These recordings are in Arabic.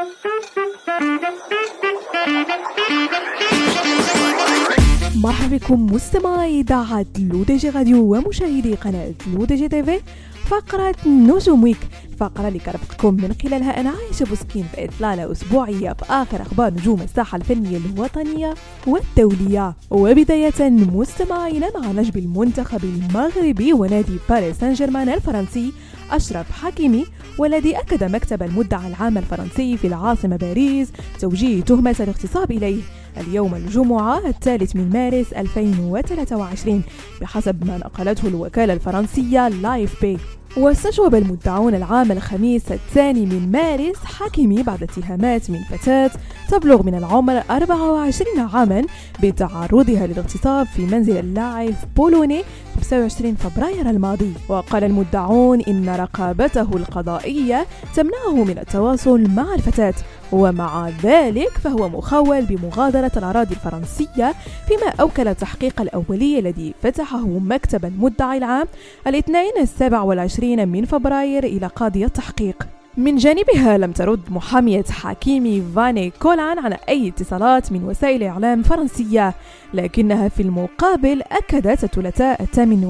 مرحبا بكم مستمعي إذاعة لو دي جي راديو ومشاهدي قناة لو دي جي تيفي. فقرة نجوم ويك، الفقرة اللي كرفقكم من خلالها أنا عايشة بوسكين في إطلالة أسبوعية في آخر أخبار نجوم الساحة الفنية الوطنية والدولية. وبداية مستمعينا مع نجم المنتخب المغربي ونادي باريس سان جيرمان الفرنسي أشرف حكيمي، والذي أكد مكتب المدعي العام الفرنسي في العاصمة باريس توجيه تهمة الاغتصاب إليه اليوم الجمعة 3 مارس 2023 بحسب ما نقلته الوكالة الفرنسية لايف بي. واستجوب المدعون العام الخميس 2 مارس حكيمي بعد اتهامات من فتاة تبلغ من العمر 24 عاما بتعرضها للاغتصاب في منزل اللاعب بولوني 25 فبراير الماضي. وقال المدعون إن رقابته القضائية تمنعه من التواصل مع الفتاة، ومع ذلك فهو مخول بمغادرة الأراضي الفرنسية، فيما أوكل التحقيق الأولي الذي فتحه مكتب المدعي العام الاثنين 27 من فبراير إلى قاضي التحقيق. من جانبها لم ترد محامية حكيمي فاني كولان على أي اتصالات من وسائل إعلام فرنسية، لكنها في المقابل أكدت الثلاثاء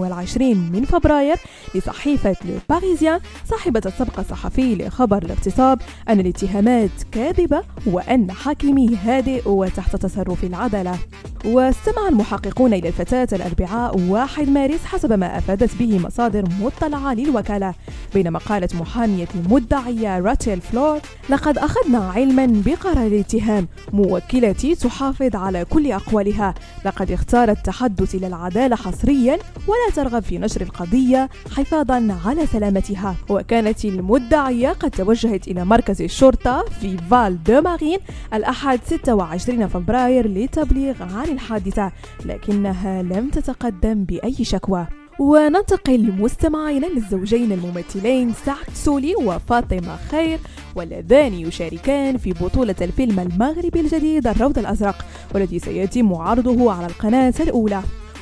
28 من فبراير لصحيفة لو باريزيان صاحبة السبق الصحفي لخبر الاغتصاب أن الاتهامات كاذبة وأن حكيمي هادئ وتحت تصرف العدالة. واستمع المحققون إلى الفتاة الأربعاء 1 مارس حسب ما أفادت به مصادر مطلعة للوكالة، بينما قالت محامية المدعية راتيل فلور: لقد أخذنا علما بقرار الاتهام، موكلتي تحافظ على كل أقوالها، لقد اختارت التحدث إلى العدالة حصريا ولا ترغب في نشر القضية حفاظا على سلامتها. وكانت المدعية قد توجهت إلى مركز الشرطة في فال دو مارين الأحد 26 فبراير للتبليغ عن الحادثة، لكنها لم تتقدم بأي شكوى. وننتقل مستمعينا للزوجين الممثلين سعد سولي وفاطمة خير، واللذان يشاركان في بطولة الفيلم المغربي الجديد الروض الأزرق، والذي سيتم عرضه على القناة الأولى.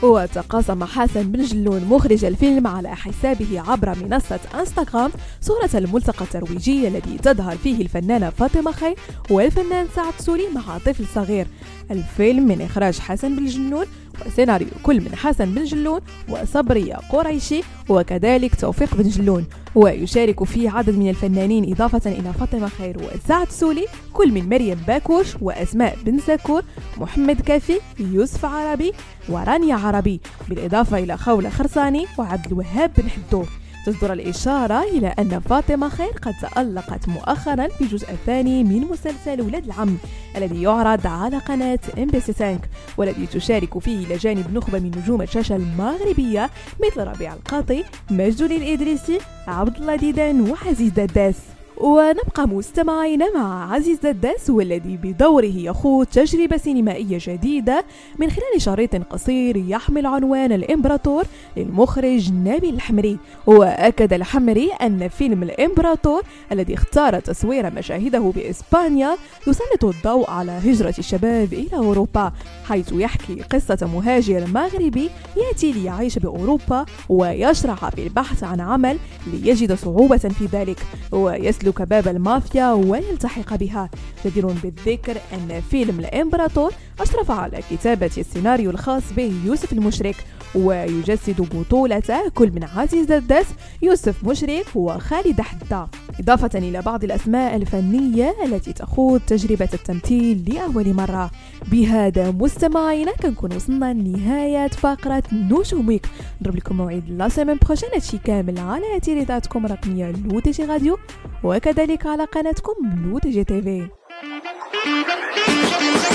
وتقاسم حسن بن جلون مخرج الفيلم على حسابه عبر منصة انستغرام صورة الملتقى الترويجي الذي تظهر فيه الفنانة فاطمة خير والفنان سعد سولي مع طفل صغير. الفيلم من إخراج حسن بن جلون وسيناريو كل من حسن بن جلون وصبرية قريشي وكذلك توفيق بن جلون، ويشارك فيه عدد من الفنانين إضافة إلى فاطمة خير وسعد سولي، كل من مريم باكوش وأسماء بن زكور، محمد كافي، يوسف عربي ورانيا عربي، بالإضافة إلى خولة خرساني وعبد الوهاب بن حدو. تصدر الإشارة إلى أن فاطمة خير قد تألقت مؤخرا في الجزء الثاني من مسلسل ولاد العم الذي يعرض على قناة MBC5، والذي تشارك فيه إلى جانب نخبة من نجوم الشاشة المغربية مثل ربيع القاطي، مجد الإدريسي، عبد الله ديدان وعزيز دداس. ونبقى مستمعين مع عزيز دداس، والذي بدوره يخوض تجربة سينمائية جديدة من خلال شريط قصير يحمل عنوان الإمبراطور للمخرج نبيل الحمري. وأكد الحمري أن فيلم الإمبراطور الذي اختار تصوير مشاهده بإسبانيا يسلط الضوء على هجرة الشباب إلى أوروبا، حيث يحكي قصة مهاجر مغربي يأتي ليعيش بأوروبا ويشرع في البحث عن عمل ليجد صعوبة في ذلك ويسلك باب المافيا ويلتحق بها. جدير بالذكر أن فيلم الإمبراطور أشرف على كتابة السيناريو الخاص به يوسف المشرك، ويجسد بطولة كل من عزيز دداس، يوسف مشرك وخالد حدة، إضافة إلى بعض الأسماء الفنية التي تخوض تجربة التمثيل لأول مرة. بهذا مستمعينا كنكون وصلنا لنهاية فقرة نجوم ويك. نضرب لكم موعد لا سيمين بروشين هادشي كامل على تيليزاتكم الرقمية لو دي جي راديو، وكذلك على قناتكم لو دي جي تيفي.